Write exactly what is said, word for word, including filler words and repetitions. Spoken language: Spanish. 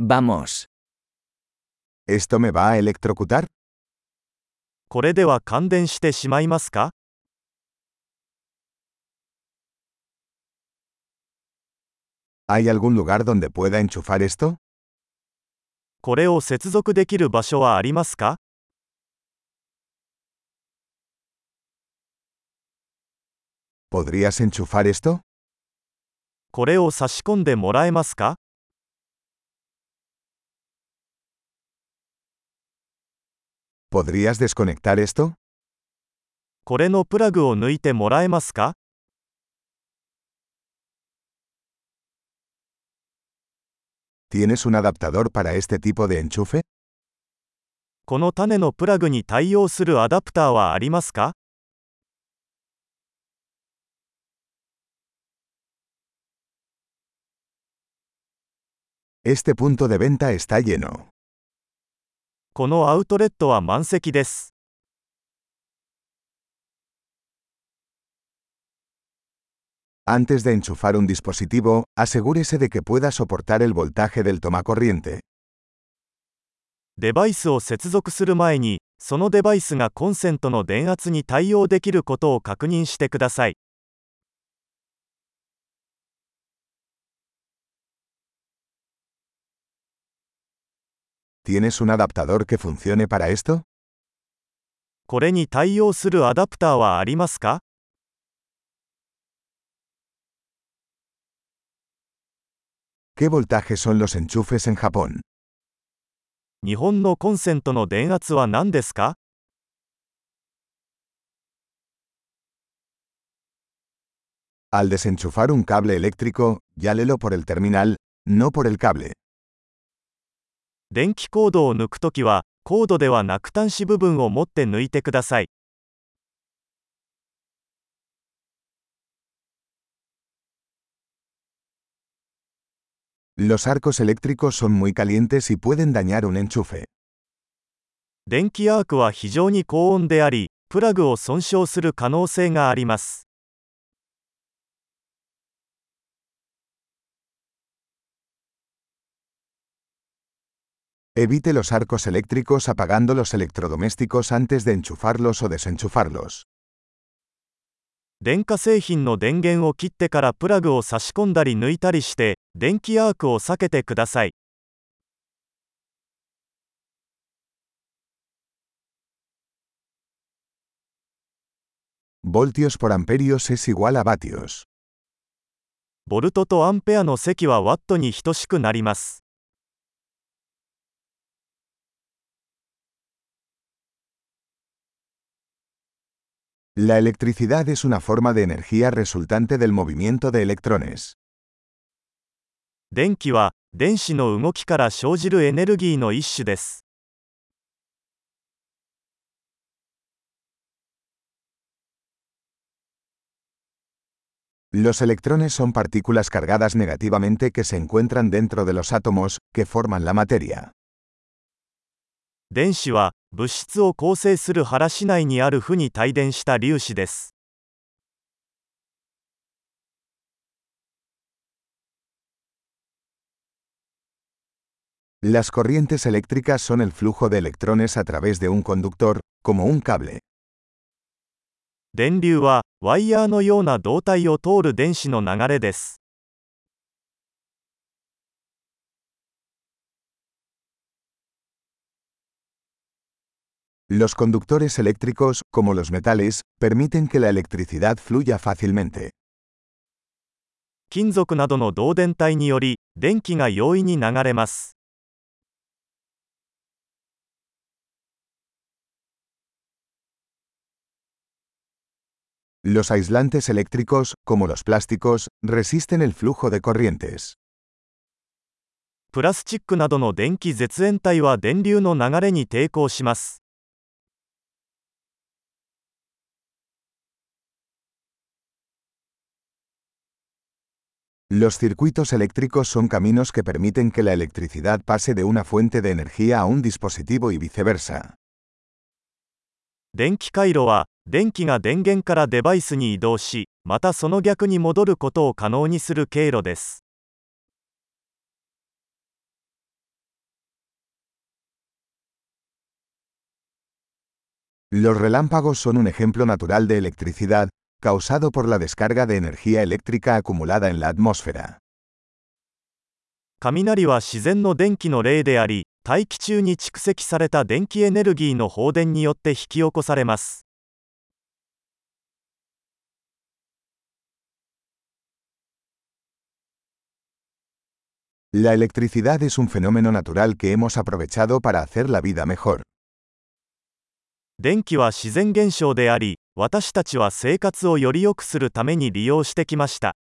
Vamos. ¿Esto me va a electrocutar? これでは感電してしまいますか？ ¿Hay algún lugar donde pueda enchufar esto? これを接続できる場所はありますか？ ¿Podrías enchufar esto? これを差し込んでもらえますか？ ¿Podrías desconectar esto? これのプラグを抜いてもらえますか？ ¿Tienes un adaptador para este tipo de enchufe? この種のプラグに対応するアダプターはありますか？ Este punto de venta está lleno. このアウトレットは満席です。 Antes de enchufar un dispositivo, asegúrese de que pueda soportar el voltaje del tomacorriente. デバイスを接続する前に、そのデバイスがコンセントの電圧に対応できることを確認してください。 ¿Tienes un adaptador que funcione para esto? これに対応するアダプターはありますか？ ¿Qué voltaje son los enchufes en Japón? 日本のコンセントの電圧は何ですか？ Al desenchufar un cable eléctrico, llálelo por el terminal, no por el cable. 電気コードを抜くときは、コードではなく端子部分を持って抜いてください。 Los arcos eléctricos son muy calientes y pueden dañar un enchufe. 電気アークは非常に高温であり、プラグを損傷する可能性があります。 Evite los arcos eléctricos apagando los electrodomésticos antes de enchufarlos o desenchufarlos. 電化製品の電源を切ってからプラグを差し込んだり抜いたりして、電気アークを避けてください。 Voltios por amperios es igual a vatios. ボルトとアンペアの積はワットに等しくなります。 La electricidad es una forma de energía resultante del movimiento de electrones. 電気は電子の動きから生じるエネルギーの一種です。 Los electrones son partículas cargadas negativamente que se encuentran dentro de los átomos, que forman la materia. 電子は物質を構成する原子内にある負に帯電した粒子です。 Las corrientes eléctricas son el flujo de electrones a través de un conductor, como un cable. 電流はワイヤーのような導体を通る電子の流れです。 Los conductores eléctricos, como los metales, permiten que la electricidad fluya fácilmente. 金属などの導電体により、電気が容易に流れます。 Los aislantes eléctricos, como los plásticos, resisten el flujo de corrientes. プラスチックなどの電気絶縁体は電流の流れに抵抗します。 Los circuitos eléctricos son caminos que permiten que la electricidad pase de una fuente de energía a un dispositivo y viceversa. 電気回路は電気が電源からデバイスに移動し、またその逆に戻ることを可能にする経路です。 Los relámpagos son un ejemplo natural de electricidad, causado por la descarga de energía eléctrica acumulada en la atmósfera. 雷は自然の電気の例であり、大気中に蓄積された電気エネルギーの放電によって引き起こされます。 La electricidad es un fenómeno natural que hemos aprovechado para hacer la vida mejor. 電気は自然現象であり、私たちは生活をより良くするために利用してきました。